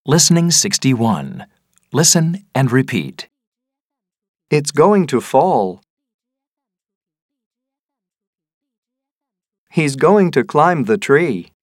Listening 61. Listen and repeat. It's going to fall. He's going to climb the tree.